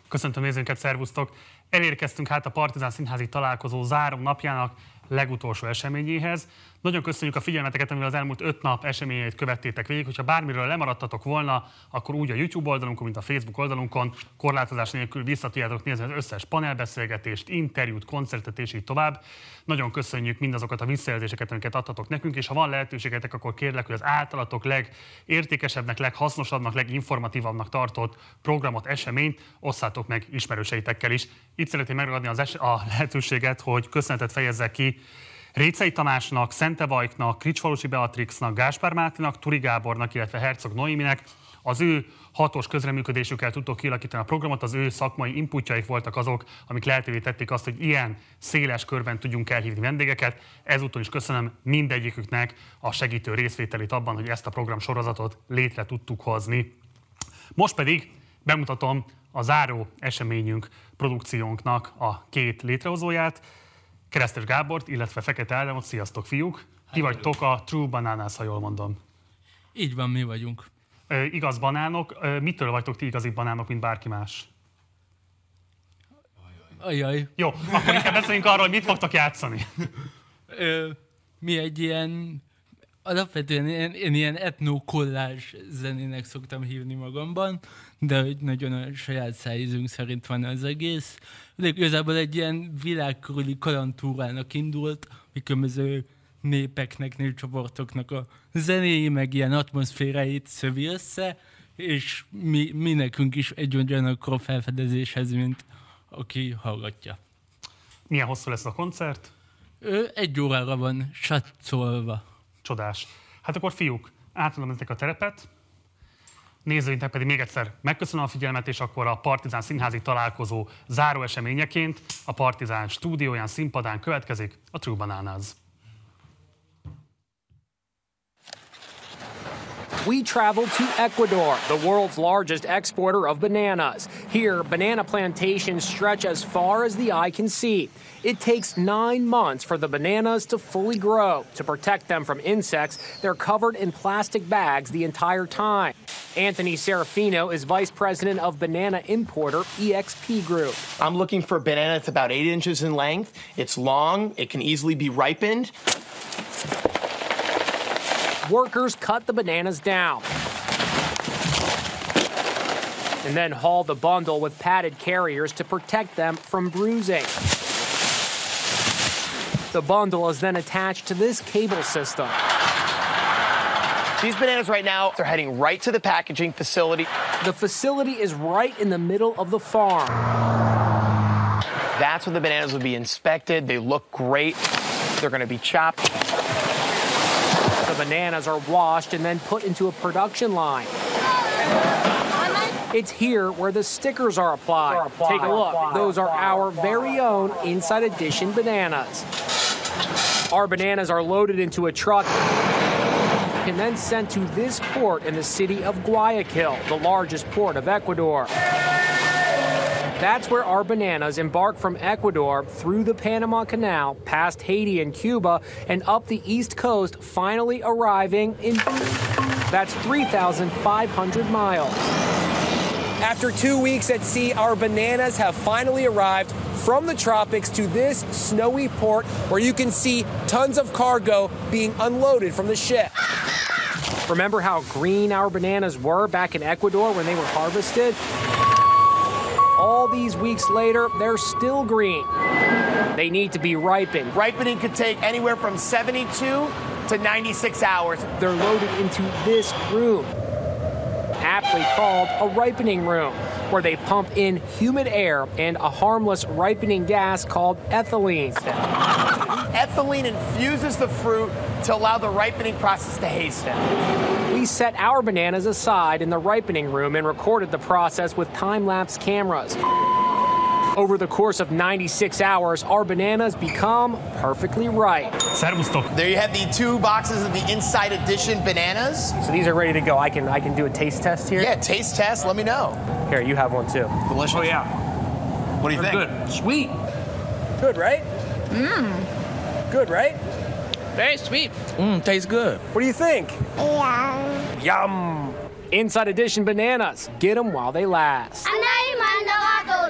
Köszöntöm nézőinket, szervusztok! Elérkeztünk hát a Partizán Színházi találkozó záró napjának legutolsó eseményéhez. Nagyon köszönjük a figyelmeteket, amivel az elmúlt 5 nap eseményeit követtétek végig. Hogyha bármiről lemaradtatok volna, akkor úgy a YouTube oldalunkon, mint a Facebook oldalunkon korlátozás nélkül vissza tudjátok nézni az összes panelbeszélgetést, interjút, koncertet és így tovább. Nagyon köszönjük mindazokat a visszajelzéseket, amiket adtatok nekünk, és ha van lehetőségetek, akkor kérlek, hogy az általatok legértékesebbnek, leghasznosabbnak, leginformatívabbnak tartott programot, eseményt osszátok meg ismerőseitekkel is. Itt szeretném megragadni a lehetőséget, hogy köszönetet fejezzek ki Récei Tamásnak, Szente Vajknak, Kricsfalusi Beatrixnak, Gáspár Máténak, Turi Gábornak, illetve Hercog Noéminek. Az ő hatos közreműködésükkel tudtok kialakítani a programot, az ő szakmai inputjaik voltak azok, amik lehetővé tették azt, hogy ilyen széles körben tudjunk elhívni vendégeket. Ezúton is köszönöm mindegyiküknek a segítő részvételét abban, hogy ezt a programsorozatot létre tudtuk hozni. Most pedig bemutatom a záró eseményünk, produkciónknak a 2 létrehozóját, Keresztes Gábort, illetve Fekete Ádámot. Sziasztok, fiúk! Ti vagytok a True Bananas, ha jól mondom. Így van, mi vagyunk. Igaz banánok. Mitől vagytok ti igazi banánok, mint bárki más? Ajaj. Jó, akkor inkább beszéljünk arról, hogy mit fogtok játszani. Mi egy ilyen, alapvetően én ilyen etno-kollázs zenének szoktam hívni magamban, de hogy nagyon a saját szájízünk szerint van az egész. De igazából egy ilyen világkörüli kalandtúrának indult, hogy különböző népeknek, népcsoportoknak a zenéi, meg ilyen atmoszféráit szövi össze, és mi nekünk is egy ugyanakkor felfedezéshez, mint aki hallgatja. Milyen hosszú lesz a koncert? 1 órára van satszolva. Csodás. Hát akkor fiúk, átadom nektek a terepet, nézőinknek pedig még egyszer megköszönöm a figyelmet, és akkor a Partizán Színházi találkozó záró eseményeként a Partizán stúdióján, színpadán következik a True Bananas. We traveled to Ecuador, the world's largest exporter of bananas. Here, banana plantations stretch as far as the eye can see. It takes 9 months for the bananas to fully grow. To protect them from insects, they're covered in plastic bags the entire time. Anthony Serafino is vice president of banana importer EXP Group. I'm looking for a banana that's about 8 inches in length. It's long, it can easily be ripened. Workers cut the bananas down and then haul the bundle with padded carriers to protect them from bruising. The bundle is then attached to this cable system. These bananas right now, they're heading right to the packaging facility. The facility is right in the middle of the farm. That's where the bananas will be inspected. They look great. They're going to be chopped. The bananas are washed and then put into a production line. It's here where the stickers are applied. Take a look. Those are our very own Inside Edition bananas. Our bananas are loaded into a truck and then sent to this port in the city of Guayaquil, the largest port of Ecuador. That's where our bananas embark from Ecuador through the Panama Canal, past Haiti and Cuba, and up the East Coast, finally arriving in... That's 3,500 miles. After 2 weeks at sea, our bananas have finally arrived from the tropics to this snowy port where you can see tons of cargo being unloaded from the ship. Remember how green our bananas were back in Ecuador when they were harvested? All these weeks later, they're still green. They need to be ripened. Ripening could take anywhere from 72 to 96 hours. They're loaded into this room, aptly called a ripening room, where they pump in humid air and a harmless ripening gas called ethylene. Ethylene infuses the fruit to allow the ripening process to hasten. We set our bananas aside in the ripening room and recorded the process with time-lapse cameras. Over the course of 96 hours, our bananas become perfectly ripe. Szervusztok! There you have the 2 boxes of the Inside Edition bananas. So these are ready to go. I can do a taste test here? Yeah, taste test, let me know. Here, you have one too. Delicious. Oh, yeah. What do you think? Good. Sweet. Good, right? Good, right? Very sweet. Tastes good. What do you think? Yum! Inside Edition bananas. Get them while they last. Anay man daw ako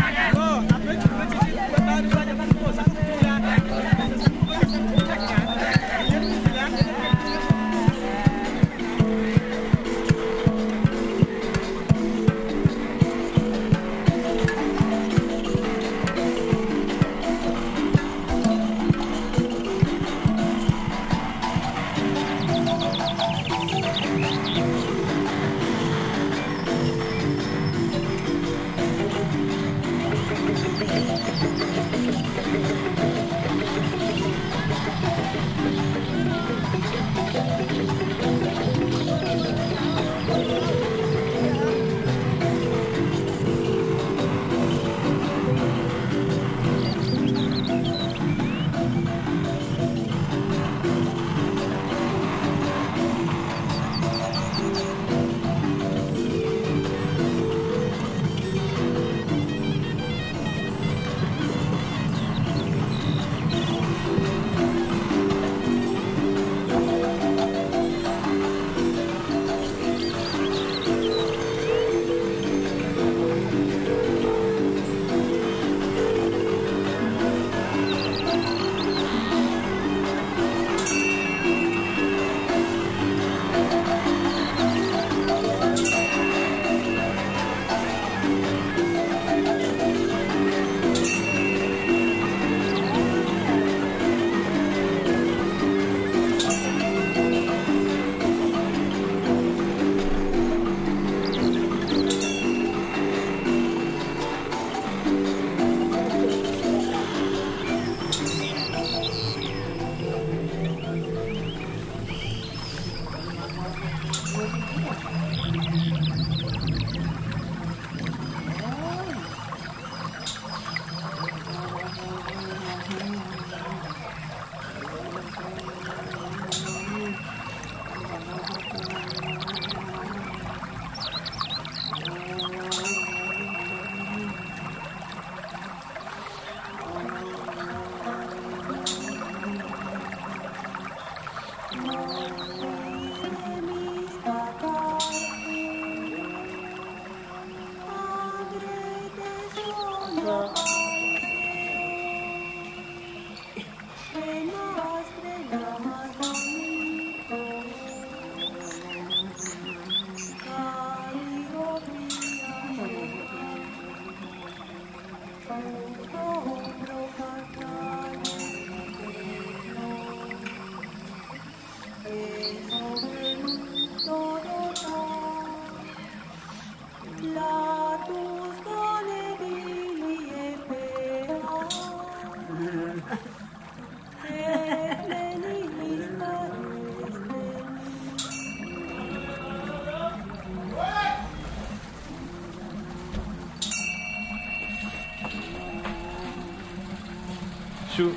Shoot.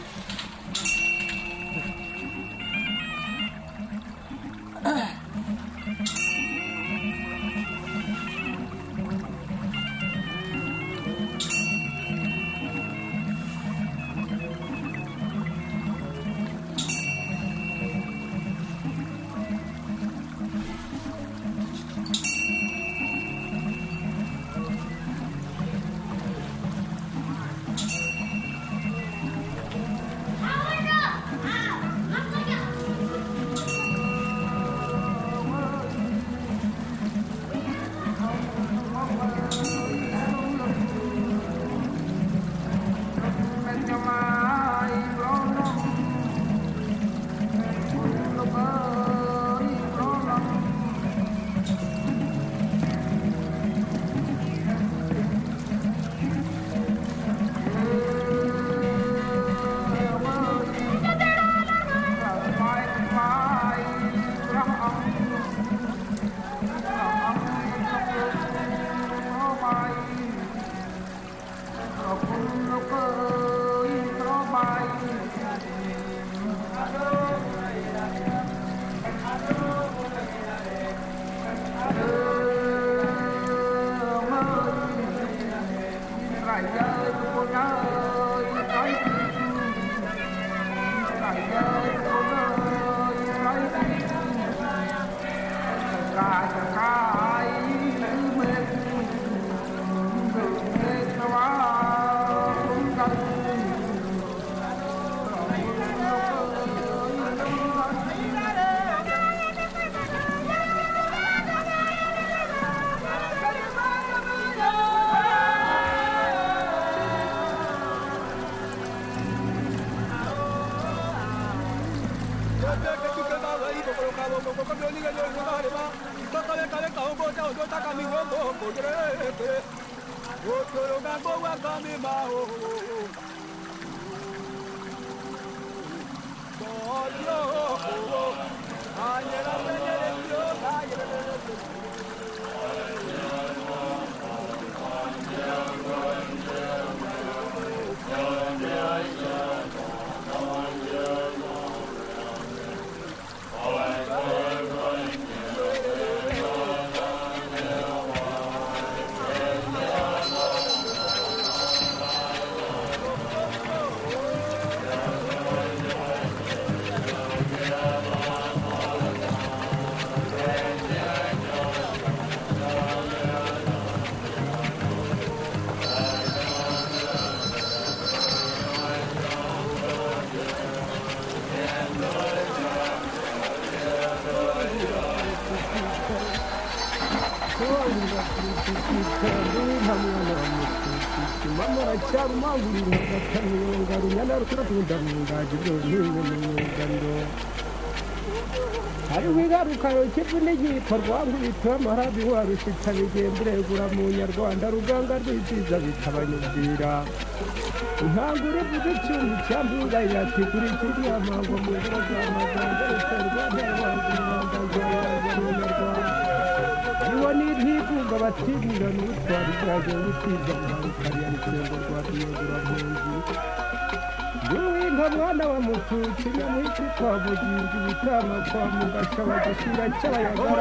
hari wigarukayo kivune gikorwa nkubito amarabi warushitsa bigemburegura mu nyarwanda ruganga rw'ibyiza bitabanyubwira intangure vuga icyuma cyambuga yatigura ikiri amango mu biro by'amaganga ruterwa n'abantu b'abanyarwanda niwo n'intigunga batibira n'utwara ibyaje gutiza mu kariya rusengo rwa biyogura mu nzu Duinga mwana wa mutuci nyamwisi kwa bugingi bitama kwa mugasha bagashira cy'abayagara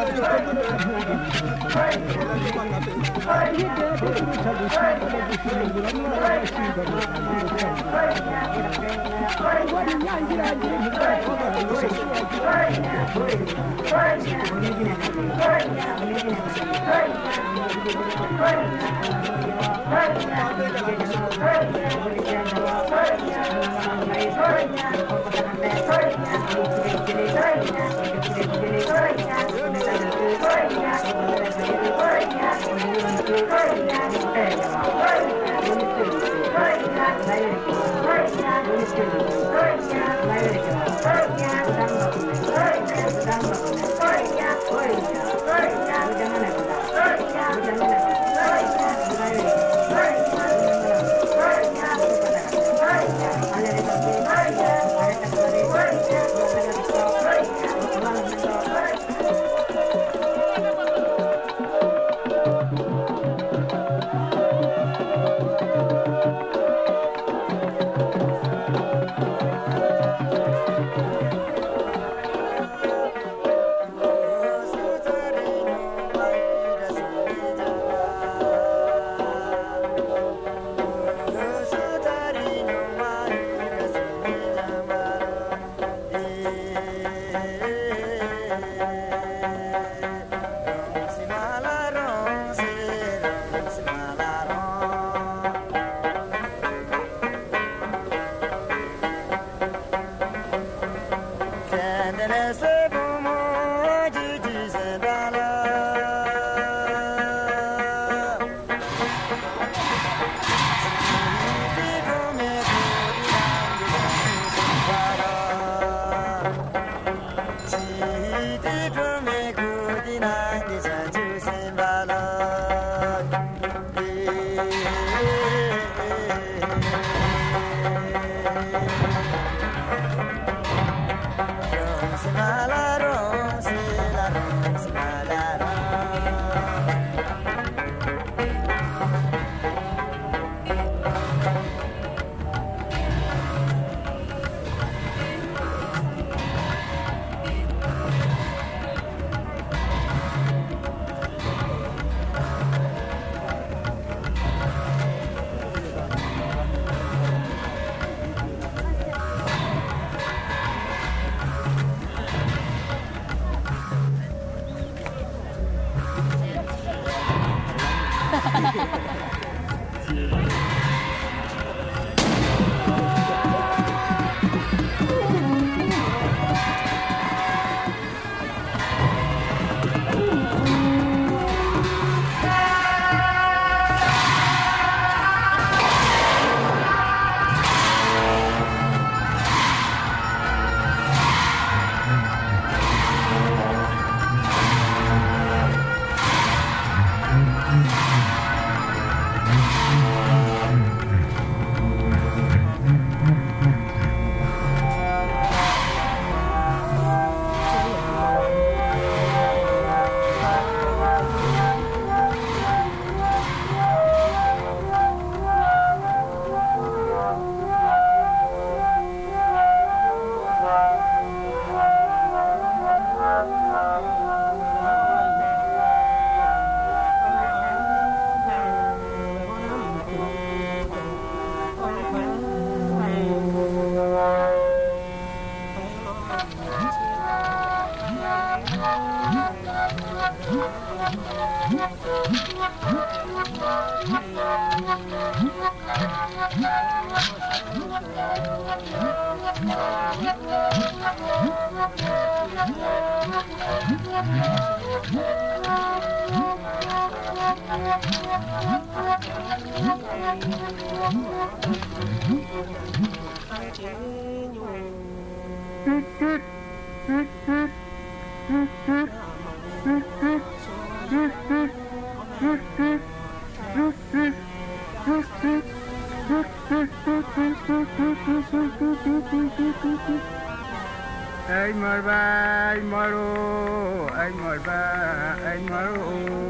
Anh mời ba, anh mời ô, anh mời ba, anh mời ô,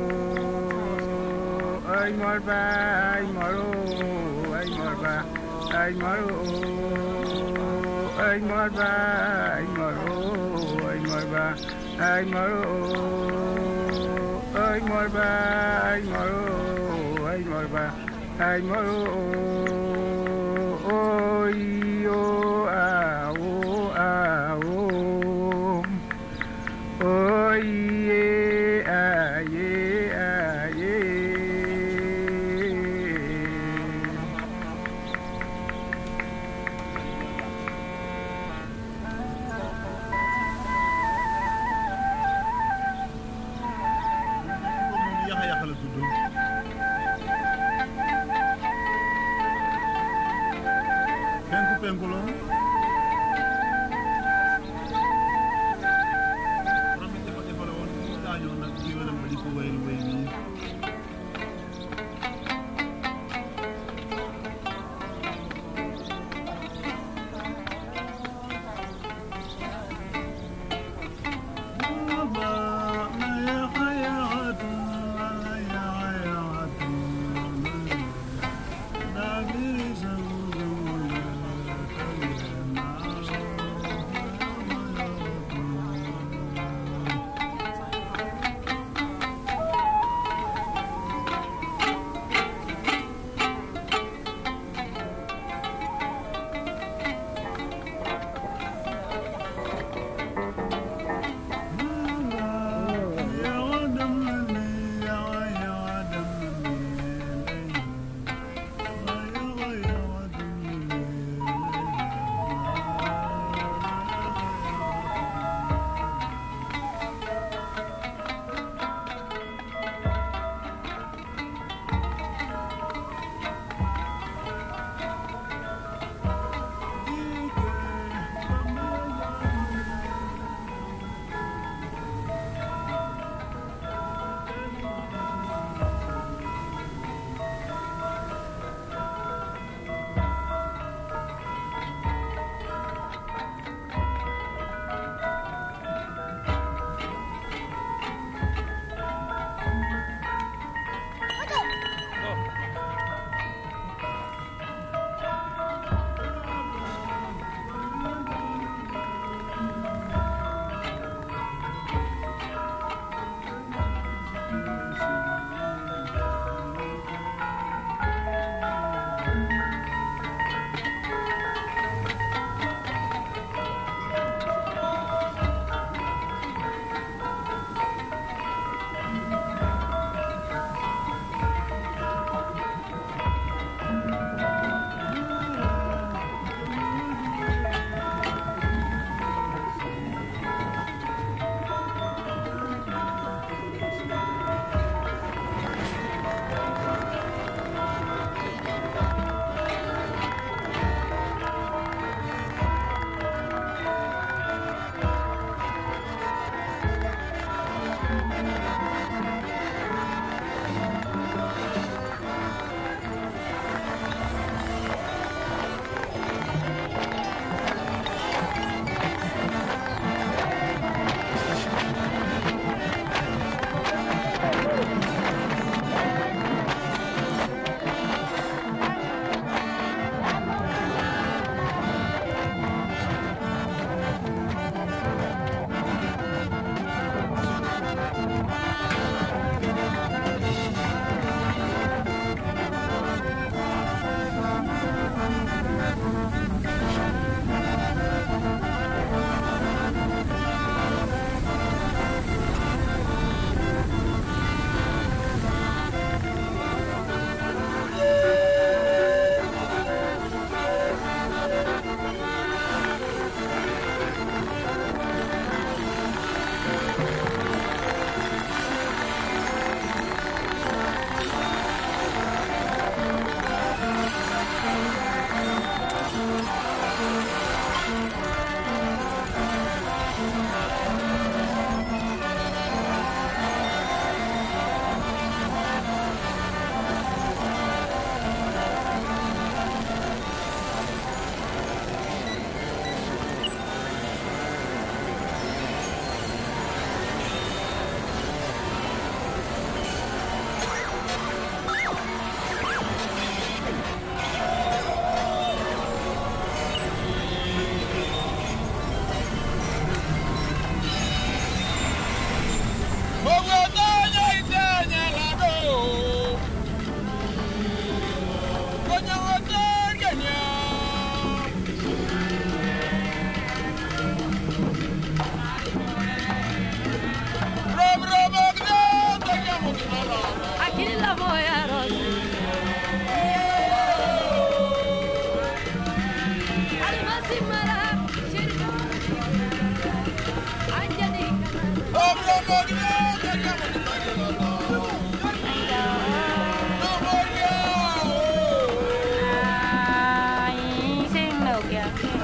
anh mời ba, anh mời ô, anh mời ba, anh mời ô, anh mời ba, anh mời ô, anh mời ba, anh mời ô, anh mời ba, anh mời ô, anh mời ba, anh mời ô, ôi ô à ô à ô. Oh yeah, yeah, yeah. Sinh được kìa.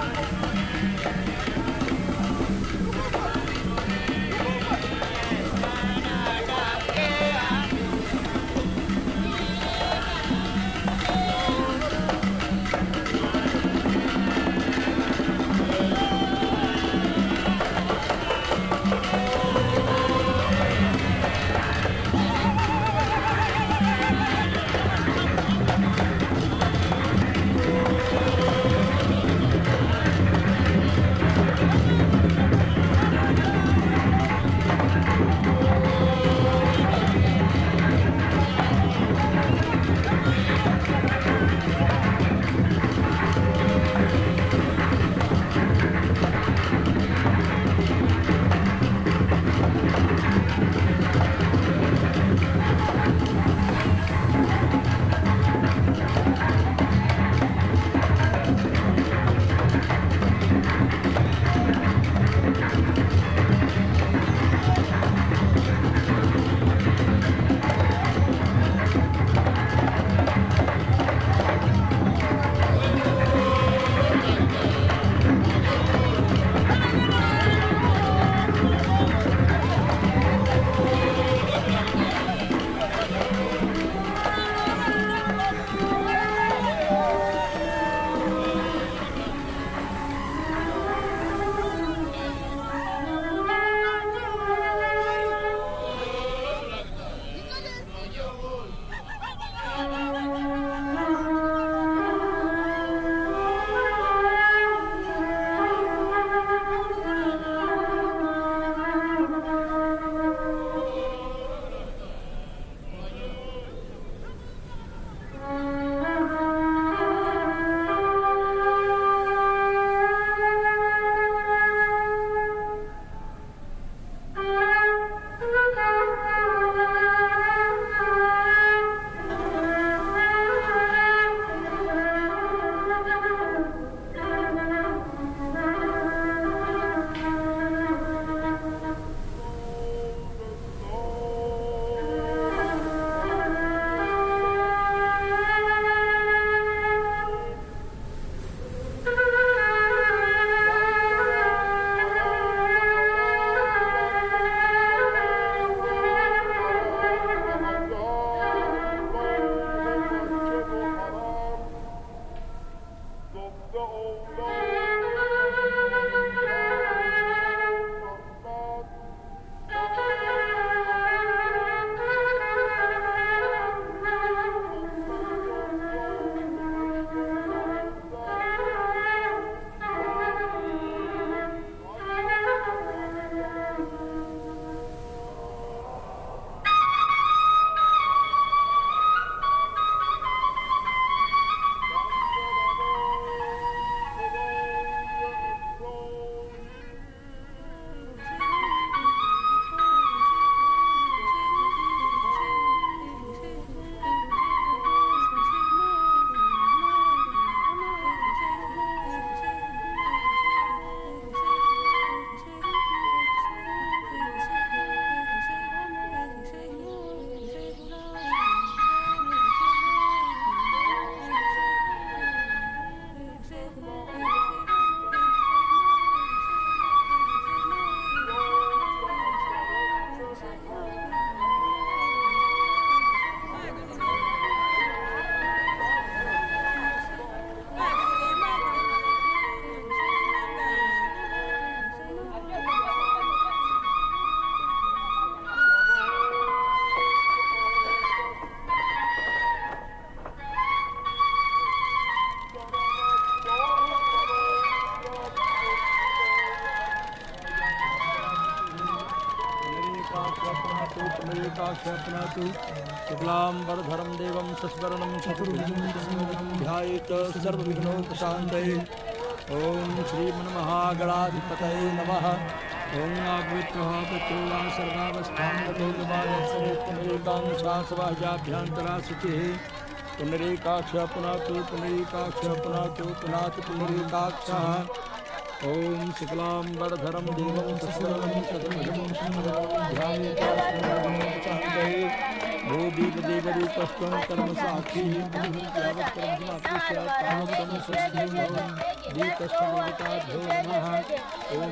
पुनरेकाक्षपनातु शुक्लाम्बरधरं देवं सस्वरणं चतुर्भुजं ध्यायेत सर्वविघ्नोपशान्तये। ॐ श्रीमन्महागणाधिपतये नमः। ॐ आग्वित्वः पितॄणां सर्वावस्थां गतो गवासरे पुनरेकांशासवाह्याभ्यन्तरा शुचिः। पुनरेकाक्ष पुनातु पुनरेकाक्ष पुनातु पुनातु पुनरेकाक्षः ॐ शुक्लाम्बरधरं देवं शशिवर्णं चतुर्भुजं ध्यायेतास्मदे भूदीपदेवरूपस्त्वं कर्मसाक्षी दीपस्थदेवताभ्यो नमः ॐ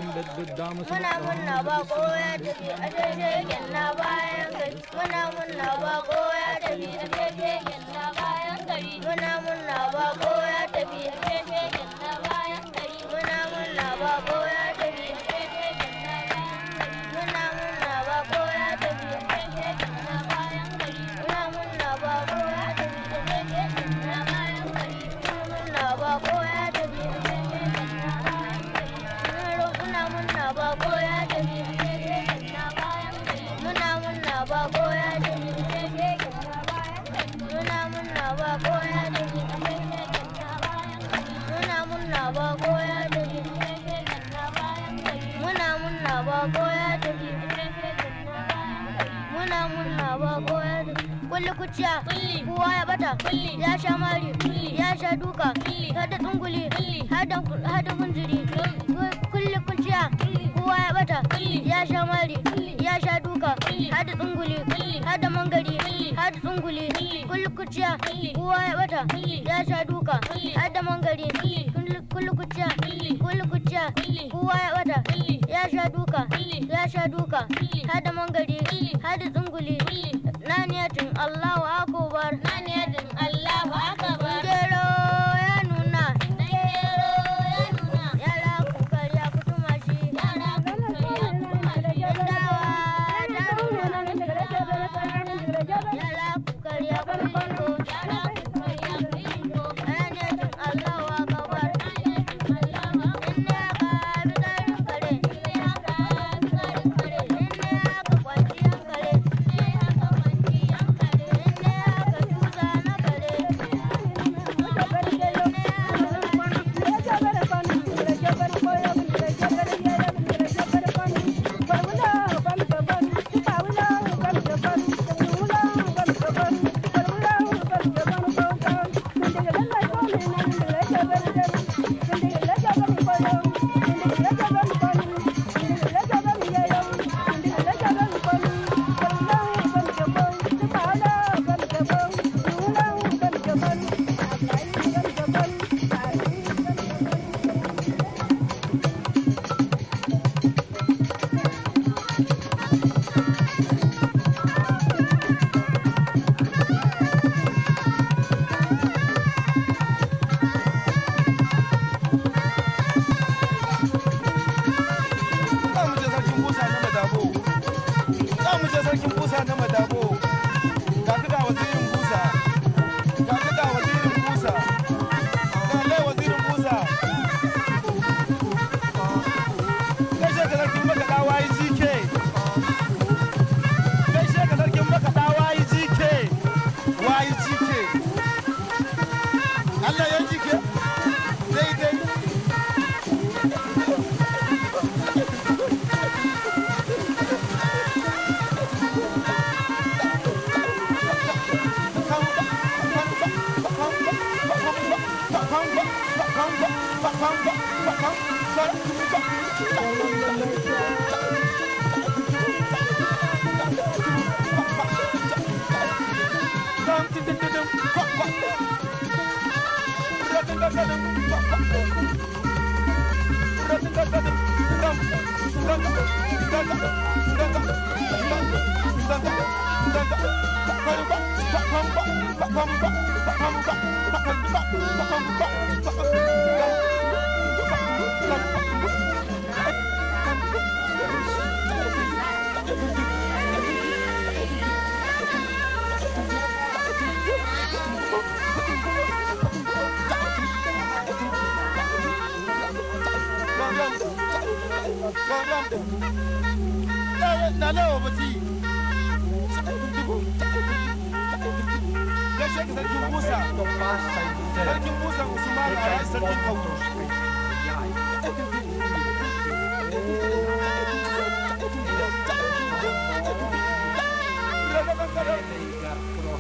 kulli kuciya kowa ya bata ya sha mari ya sha duka hada tsunguli hada kunjiri kulli kuciya kowa ya bata ya sha mari ya sha duka hada tsunguli hada mangari hada tsunguli kulli kuciya kowa ya bata ya sha duka hada mangari kulli kuciya kowa ya bata ya sha duka hada mangari hada tsunguli naniyatin Allahu akbar gero ya nuna yara ku karya ku tuma shi dawa ta nuna yara ku karya ku rinko naniyatin Allahu akbar inna ka bidarin kare inna ka kwanciyar kare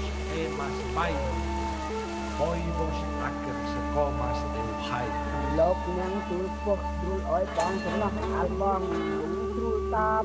Toivos acker se komas el hai. Yang tulpok drul oi bang sebelah albang drul tam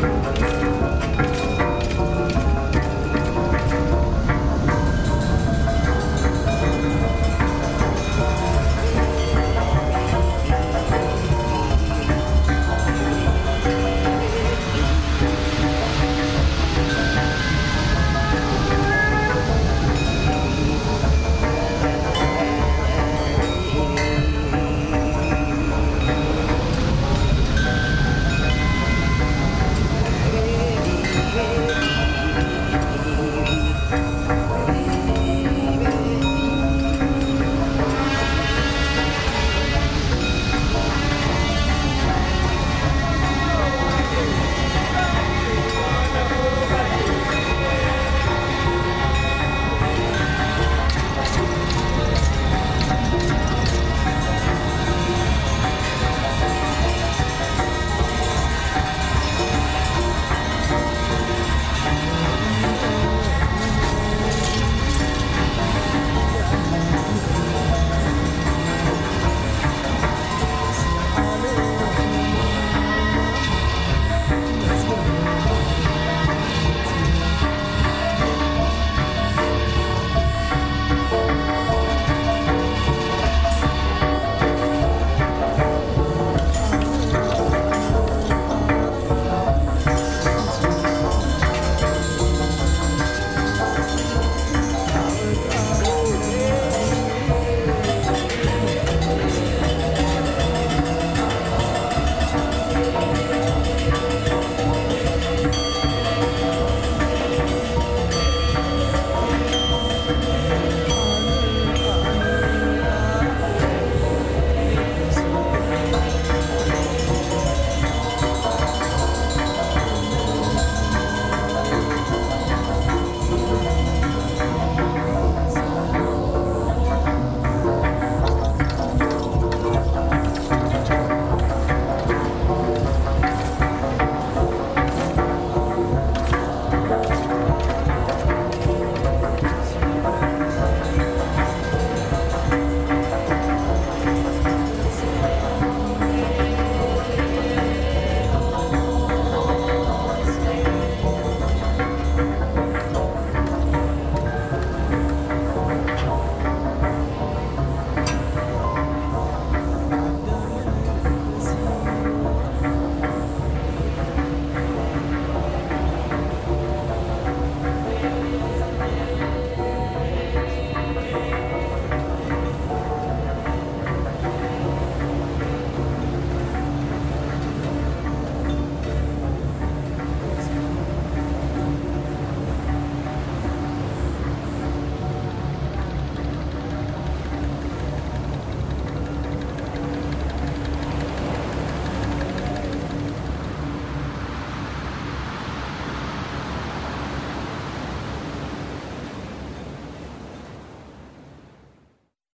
Thank you.